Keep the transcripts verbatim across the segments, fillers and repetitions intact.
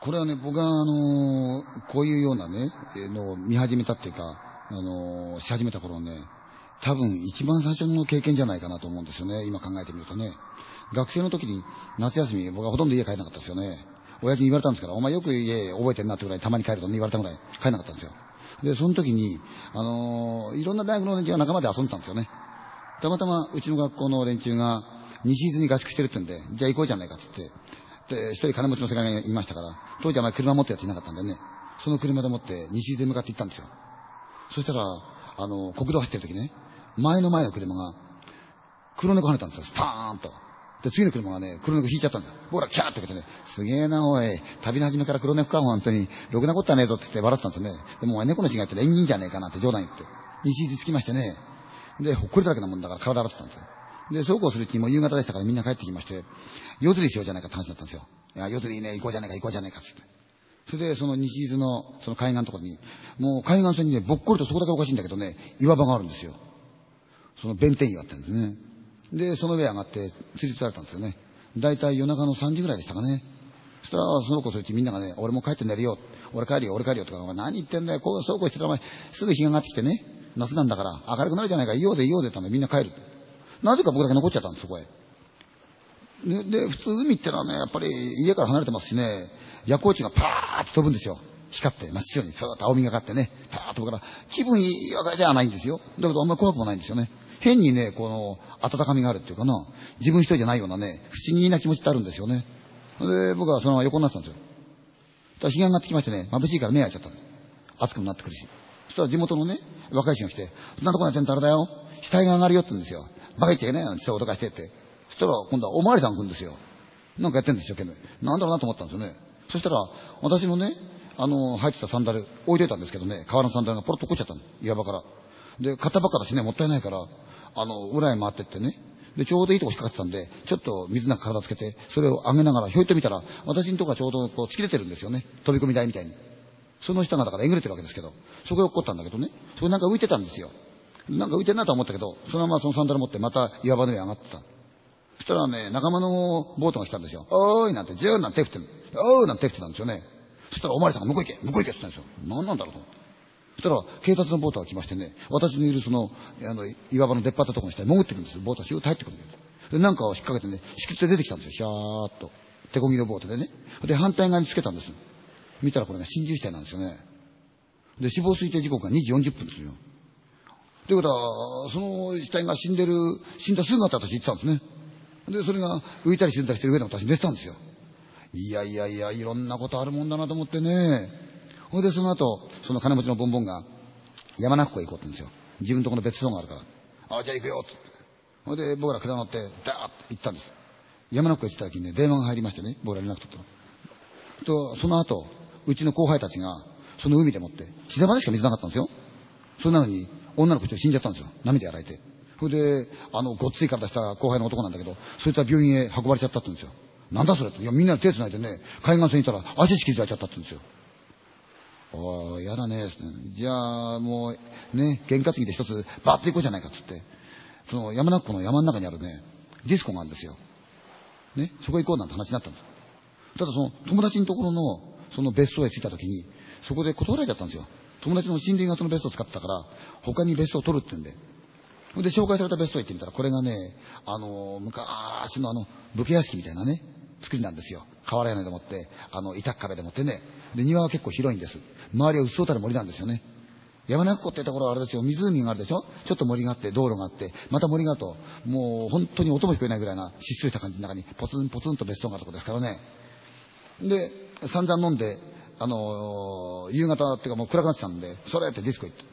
これはね、僕が、あのー、こういうようなね、のを見始めたっていうか、あのー、し始めた頃ね、多分一番最初の経験じゃないかなと思うんですよね、今考えてみるとね。学生の時に夏休み、僕はほとんど家帰らなかったですよね。親父に言われたんですから、お前よく家覚えてんなってぐらいたまに帰ると言われたぐらい帰らなかったんですよ。で、その時に、あのー、いろんな大学の連中が仲間で遊んでたんですよね。たまたまうちの学校の連中が西伊豆に合宿してるってんで、じゃあ行こうじゃないかって言って、で、一人金持ちの世界がいましたから、当時はまあ車持ってやついなかったんでね、その車で持って西伊豆に向かって行ったんですよ。そしたら、あの、国道走ってる時ね、前の前の車が黒猫跳ねたんですよ、スパーンと。で、次の車がね、黒猫引いちゃったんですよ。僕らキャーって言ってね、すげえなおい、旅の始めから黒猫か本当に、ろくなことはねえぞって言って笑ってたんですよね。でもお前猫の死骸って縁起いいんじゃねえかなって冗談言って、西伊豆着きましてね、で、ほっこりだらけなもんだから体洗ってたんですよ。で、そうこうするうちにもう夕方でしたからみんな帰ってきまして、夜釣りしようじゃないかって話になったんですよ。いや、夜釣りね、行こうじゃないか、行こうじゃないかって。それで、その西伊豆の、その海岸のところに、もう海岸線にね、ぼっこりとそこだけおかしいんだけどね、岩場があるんですよ。その弁天岩って言うんですね。で、その上上がって釣り釣られたんですよね。だいたい夜中のさんじぐらいでしたかね。そしたら、その子それうちみんながね、俺も帰って寝るよ。俺帰るよ、俺帰るよとか、何言ってんだよ、こう、そうこうしてたらお前、すぐ日が上がってきてね、夏なんだから明るくなるじゃないか、いようでいようでってみんな帰る。なぜか僕だけ残っちゃったんです、そこへ。で、で普通海ってのはね、やっぱり家から離れてますしね、夜光虫がパーッと飛ぶんですよ。光って、真っ白に、ふーっと青みがかってね、パーッと飛ぶから、気分いいわけじゃないんですよ。だけどあんまり怖くもないんですよね。変にね、この、温かみがあるっていうかな、自分一人じゃないようなね、不思議な気持ちってあるんですよね。で、僕はそのまま横になってたんですよ。だから日が上がってきましてね、眩しいから目開いちゃったの。暑くもなってくるし。そしたら地元のね、若い人が来て、そんなとこにやってんとあれだよ。死体が上がるよって言うんですよ。バカ言っちゃいけないよ、って脅かしてって。そしたら今度はおまわりさん来るんですよ。なんかやってんですよ、懸命。なんだろうなと思ったんですよね。そしたら、私のね、あの、入ってたサンダル、置いといたんですけどね、革のサンダルがポロッと落っこっちゃったの。岩場から。で、片ばっかだしね、もったいないから、あの、裏へ回ってってね。で、ちょうどいいとこ引っかかってたんで、ちょっと水の中体つけて、それを上げながら、ひょいと見たら、私のとこがちょうどこう突き出てるんですよね。飛び込み台みたいに。その下がだからえぐれてるわけですけど、そこへ落っこったんだけどね、そこなんか浮いてたんですよ。なんか浮いてるなと思ったけど、そのままそのサンダル持ってまた岩場の上上がってた。そしたらね、仲間のボートが来たんですよ。おーいなんて、ジューなんて手振ってる。おーいなんて手振ってたんですよね。そしたらおまわりさんが向こう行け、向こう行けって言ったんですよ。何なんだろうと思って。そしたら警察のボートが来ましてね、私のいるその、あの、岩場の出っ張ったところに下に潜ってくるんです。ボートがシューッと入ってくるんです。で、なんかを引っ掛けてね、しきって出てきたんですよ。シャーっと。手漕ぎのボートでね。で、反対側につけたんです。見たらこれが心中死体なんですよね。で、死亡推定時刻がにじよんじゅっぷんですよ。ということは、その死体が死んでる、死んだすぐ後私言ってたんですね。で、それが浮いたり沈んだりしてる上で私寝てたんですよ。いやいやいや、いろんなことあるもんだなと思ってね。ほいでその後、その金持ちのボンボンが山中湖へ行こうって言うんですよ。自分のところの別荘があるから。あ、じゃあ行くよって。ほいで僕ら車乗ってダーッと行ったんです。山中湖へ行った時にね、電話が入りましてね、僕ら連絡取ったの。と、その後、うちの後輩たちが、その海でもって、膝までしか水なかったんですよ。それなのに、女の子一人死んじゃったんですよ。涙やられて。それで、あの、ごっつい体した後輩の男なんだけど、そいつは病院へ運ばれちゃったって言うんですよ。なんだそれって。いや、みんなで手繋いでね、海岸線にいたら足引きずられちゃったって言うんですよ。ああ、やだね。じゃあ、もう、ね、験担ぎで一つ、バーッと行こうじゃないかって言って、その山中湖の山の中にあるね、ディスコがあるんですよ。ね、そこ行こうなんて話になったんです。ただその友達のところのその別荘へ着いた時にそこで断られちゃったんですよ。友達の親類がその別荘を使ってたから他に別荘を取るって言うんで。で紹介された別荘へ行ってみたらこれがね、あの昔のあの武家屋敷みたいなね作りなんですよ。瓦屋根でもってあの板壁でもってね。で庭は結構広いんです。周りはうっそうたる森なんですよね。山中湖ってところはあれですよ、湖があるでしょ、ちょっと森があって道路があってまた森があるともう本当に音も聞こえないぐらいなしっすりした感じの中にポツンポツンと別荘があるところですからね。で、散々飲んで、あのー、夕方っていうかもう暗くなってたんで、それってディスコ行って。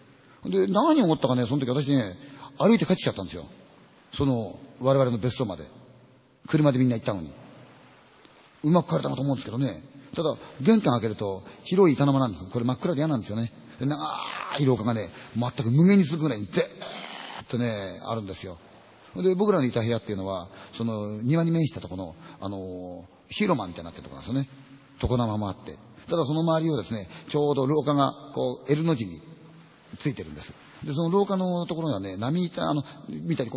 で、何を思ったかね、その時私ね、歩いて帰ってきちゃったんですよ。その、我々の別荘まで。車でみんな行ったのに。うまく帰れたなと思うんですけどね。ただ、玄関開けると、広い板の間なんです。これ真っ暗で嫌なんですよね。で、長い廊下がね、全く無限に続くぐらいに、でーっとね、あるんですよ。で、僕らのいた部屋っていうのは、その、庭に面したところの、あのー、広間みたいになってるところなんですよね。床のままあって。ただその周りをですね、ちょうど廊下がこう L の字についてるんです。で、その廊下のところにはね、波板、あの、みたいにこう、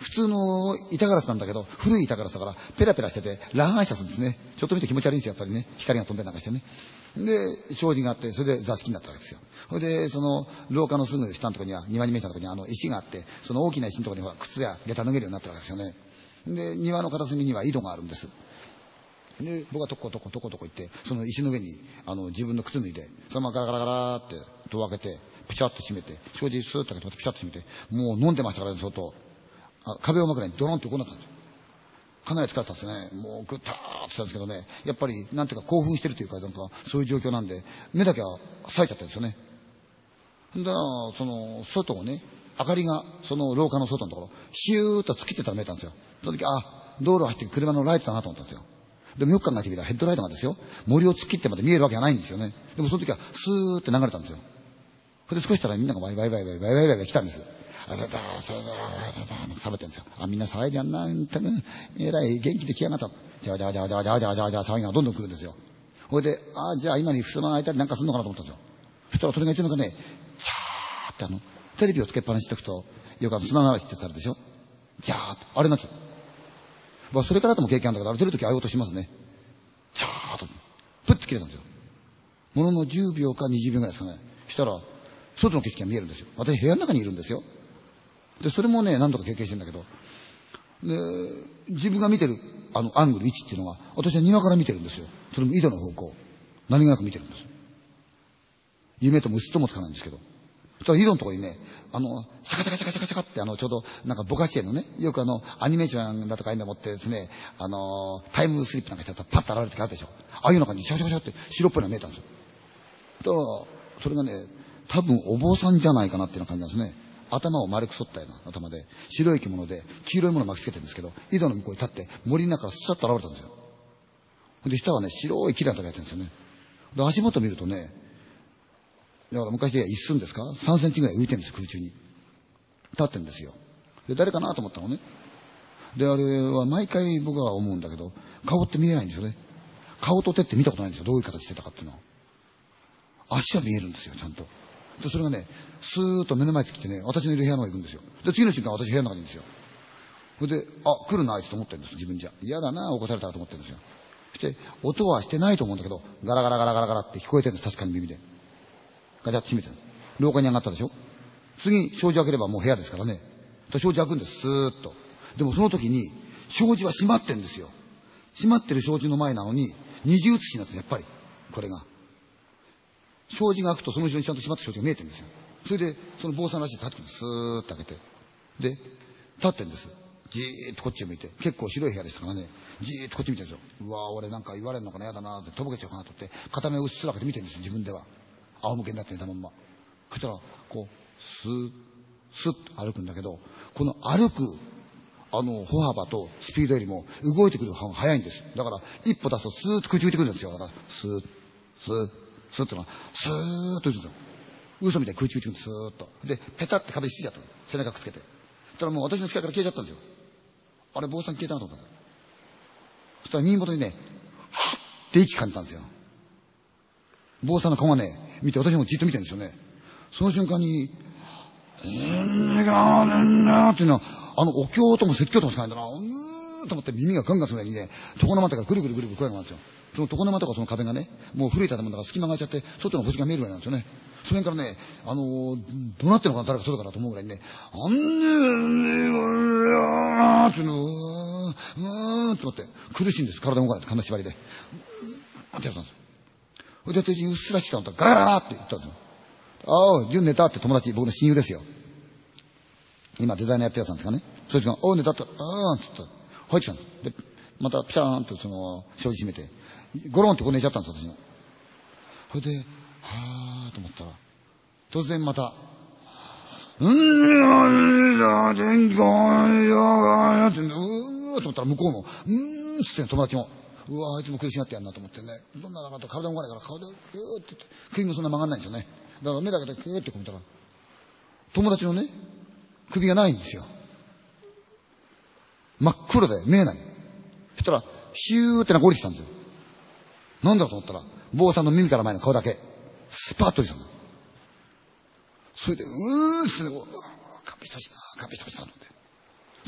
普通の板ガラスなんだけど、古い板ガラスだから、ペラペラしてて、乱反射するんですね。ちょっと見て気持ち悪いんですよ、やっぱりね。光が飛んでなんかしてね。で、障子があって、それで座敷になったわけですよ。それで、その、廊下のすぐ下のところには、庭に面したところにあの、石があって、その大きな石のところにほら、靴や下駄脱げるようになってるわけですよね。で、庭の片隅には井戸があるんです。で、僕はとことことことこ行って、その石の上に、あの、自分の靴脱いで、そのままガラガラガラって戸を開けて、ピシャッと閉めて、障子スーッと開けて、ピシャッと閉めて、もう飲んでましたからね、相当。あ、壁を枕にドロンって横になったんですよ。かなり疲れたんですね。もうぐったーってしたんですけどね、やっぱりなんていうか興奮してるというか、なんかそういう状況なんで、目だけは冴えちゃったんですよね。だから、その、外をね、明かりがその廊下の外のところ、ヒューッと突きってたら見えたんですよ。その時、あ、道路走ってる車のライトだなと思ったんですよ。でもよく考えてみたらヘッドライトがですよ、森を突っ切ってまで見えるわけがないんですよね。でもその時はスーって流れたんですよ。それで少したらみんながバイバイバイバイバイバイバイバイ来たんです。あざざそれだ騒ってんですよ。あ、みんな騒いでやんな、うんたく、えらい元気で来やがった。じゃあじゃあじゃあじゃあじゃあじゃあじゃあじゃあ騒ぎがどんどん来るんですよ。それで、あ、じゃあ今に襖が開いたりなんかするのかなと思ったんですよ。そしたらそれがいつの間にかね、シャーってあの、テレビをつけっぱなししておくと、よくあの砂嵐って言ってあるでしょ。ジャーって、あれになっちゃった。まあそれからとも経験あるんだけど、あれ出るときああいう音しますね。チャーッと、プッと切れたんですよ。もののじゅうびょうかにじゅうびょうぐらいですかね。したら、外の景色が見えるんですよ。私部屋の中にいるんですよ。で、それもね、何度か経験してるんだけど、で、自分が見てる、あの、アングル、位置っていうのが、私は庭から見てるんですよ。それも井戸の方向。何気なく見てるんです。夢とも薄ともつかないんですけど。そしたら井戸のところにね、あの、シャカシャカシャカシャカシャカって、あの、ちょうど、なんか、ボカシエのね、よくあの、アニメーションだとかいうんでもってですね、あの、タイムスリップなんかしちゃったらパッと現れる時あるでしょ。ああいうのがね、シャカシャカシャって白っぽいのが見えたんですよ。だから、それがね、多分お坊さんじゃないかなっていうような感じなんですね。頭を丸く反ったような頭で、白い着物で、黄色いものを巻きつけてるんですけど、井戸の向こうに立って、森の中からスチャッと現れたんですよ。で、下はね、白い綺麗なとこやってるんですよね。で、足元見るとね、だから昔で言えば一寸ですか ?さん センチぐらい浮いてるんです、空中に。立ってるんですよ。で、誰かなと思ったのね。で、あれは毎回僕は思うんだけど、顔って見えないんですよね。顔と手って見たことないんですよ。どういう形してたかっていうのは。足は見えるんですよ、ちゃんと。で、それがね、スーッと目の前に来てね、私のいる部屋の方行くんですよ。で、次の瞬間私部屋の中にいるんですよ。それで、あ、来るな、あいつと思ってるんです、自分じゃ。嫌だな、起こされたらと思ってるんですよ。そして、音はしてないと思うんだけど、ガラガラガラガラガラって聞こえてるんです、確かに耳で。ガチャッと閉めてる。廊下に上がったでしょ。次、障子開ければもう部屋ですからね。障子開くんです、スーッと。でもその時に、障子は閉まってんですよ。閉まってる障子の前なのに、二重写しになってやっぱり、これが。障子が開くとその後ろにちゃんと閉まった障子が見えてるんですよ。それで、その坊さんらしい立ってるんです。スーッと開けて。で、立ってんです。じーっとこっちを向いて。結構広い部屋でしたからね。じーっとこっち見てるんですよ。うわぁ、俺なんか言われるのかな、やだなーって、とぼけちゃうかなと思って、片目をうっすら開けて見てるんですよ、自分では。仰向けになって寝たまんま。そしたら、こう、スーッ、スッと歩くんだけど、この歩く、あの、歩幅とスピードよりも動いてくる方が速いんです。だから、一歩出すとスーッと口浮いてくるんですよ。だから、スーッ、スーッ、スーッとのが、スーッと言うんですよ。嘘みたいに空中浮いてくるんです、スーッと。で、ペタって壁についちゃったの。背中くっつけて。そしたらもう私の視界から消えちゃったんですよ。あれ、坊さん消えたなと思ったんだ。そしたら耳元にね、はっって息感じたんですよ。坊さんの顔がね、見て、私もじっと見てるんですよね。その瞬間に、うーん、がーんなーっていうのは、あの、お経とも説教ともつかないんだな、うーんと思って耳がガンガンするようにね、床の間からぐるぐるぐるぐる声が回るんですよ。その床の間とかその壁がね、もう古い建物だから隙間が空いちゃって、外の星が見えるぐらいなんですよね。その辺からね、あのー、どうなってるのかな、誰か外からと思うぐらいにね、あんねー、っていうのを、うーん、って思って、苦しいんです、体動かないと、金縛りで。うーんってやったんですよ。それで私にうっすらしてたのとガラガラガラって言ったんですよ。ああ、純寝たって友達、僕の親友ですよ。今デザイナーやってるやつなんですかね。そいつが、おう寝たって、ああ、って言ったら、入ってきたんです。で、またピシャーンとその、障子閉めて、ゴロンってこう寝ちゃったんです、私の。それで、はあと思ったら、突然また、うん、だ、天気が、いや、って、うーと思ったら向こうも、うーん、つって友達も、うわ、あいつも苦しがってやんなと思ってね、どんなだかと体動かないから、顔で、キューって、首もそんな曲がんないんですよね。だから目だけでキューってこう見たら、友達のね、首がないんですよ。真っ黒で見えない。そしたら、ヒューってなんか降りてきたんですよ。なんだろうと思ったら、坊さんの耳から前の顔だけ、スパッと降りてきたの。それで、うーんって、勘弁してほしいな、勘弁してほしいなと思って。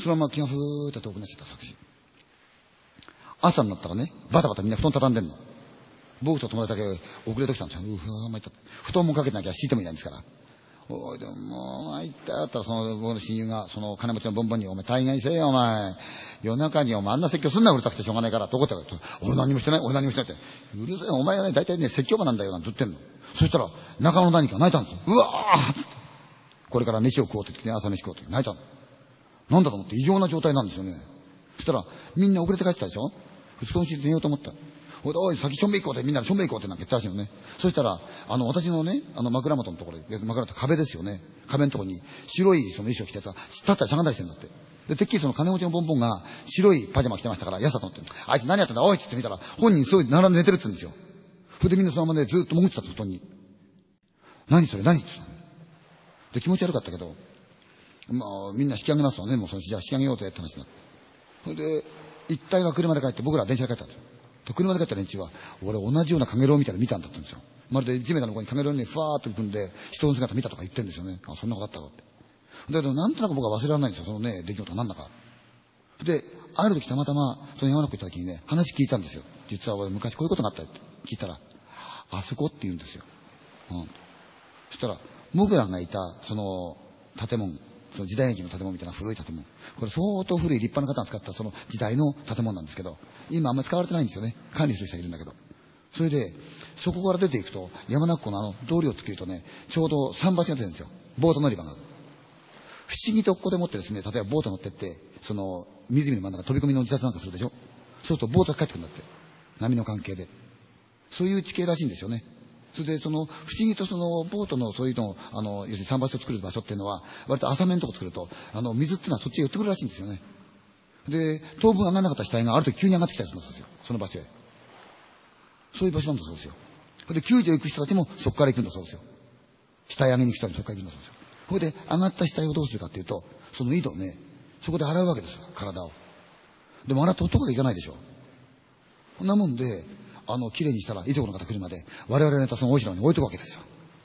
そのまま気がふーって遠くなっちゃった作詞。朝になったらね、バタバタみんな布団畳んでんの。僕と友達だけ遅れてきたんですよ。うふわー参った。布団もかけてなきゃ敷いてもいないんですから。おいでももう参ったよったら、その僕の親友がその金持ちのボンボンに、お前大概せえよお前、夜中にお前あんな説教すんな、うるさくてしょうがないからって怒ったよ。俺何もしてない、俺何もしてないって。うるさい、お前はね大体ね説教場なんだよなんて言ってんの。そしたら中野何か泣いたんですよ。うわーっつって、これから飯を食おうって言ってね、朝飯食おうって泣いたの。なんだと思って、異常な状態なんですよね。そしたらみんな遅れて帰ってたでしょ。布団敷いて寝ようと思った。おい、先しょんべい行こうって、みんなでしょんべい行こうってなんか言ったらしいのね。そしたら、あの、私のね、あの、枕元のところで、枕元壁ですよね。壁のところに白いその衣装着てさ、立ったりしゃがんだりしてんだって。で、てっきりその金持ちのボンボンが白いパジャマ着てましたから、やさと思って、あいつ何やってんだ、おいって言ってみたら、本人すごい並んで寝てるって言うんですよ。それでみんなそのままね、ずっと潜ってたんです、布団に。何それ、何って言ったの。で、気持ち悪かったけど、まあ、みんな引き上げますわね、もうその、じゃあ引き上げようぜって話になって。それで、一体は車で帰って、僕らは電車で帰ったんですよ。車で帰った連中は、俺同じようなカゲロウみたいなの見たんだったんですよ。まるで地面の向こうにカゲロウにふわーっと組んで、人の姿見たとか言ってるんですよね。あ、そんなことあったろって。だけど、なんとなく僕は忘れられないんですよ、そのね、出来事がなんだか。で、ある時たまたま、その山の子行った時にね、話聞いたんですよ。実は俺昔こういうことがあったよって聞いたら、あそこって言うんですよ。うん。そしたら、僕らがいた、その、建物、その時代劇の建物みたいな古い建物。これ相当古い立派な方が使ったその時代の建物なんですけど、今あんまり使われてないんですよね。管理する人がいるんだけど。それで、そこから出ていくと、山中湖のあの通りを突きるとね、ちょうど桟橋が出てるんですよ。ボート乗り場が。不思議とここでもってですね、例えばボート乗ってって、その、湖の真ん中飛び込みの自殺なんかするでしょ。そうするとボートが帰ってくるんだって。波の関係で。そういう地形らしいんですよね。それで、その、不思議とその、ボートのそういうのを、あの、要するに桟橋を作る場所っていうのは、割と浅めのとこ作ると、あの、水っていうのはそっちへ寄ってくるらしいんですよね。で、当分上がらなかった死体がある時急に上がってきたりするんですよ。その場所へ。そういう場所なんだそうですよ。で、救助行く人たちもそこから行くんだそうですよ。死体上げに行く人たちもそこから行くんだそうですよ。それで、上がった死体をどうするかっていうと、その井戸をね、そこで洗うわけですよ、体を。でも洗って男がいかないでしょ。こんなもんで、あの、綺麗にしたら、いとこの方来るまで、我々の寝たその大城に置いとくわけですよ。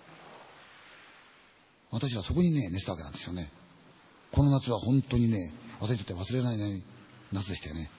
私はそこにね、寝てたわけなんですよね。この夏は本当にね、私にとって忘れられない夏でしたよね。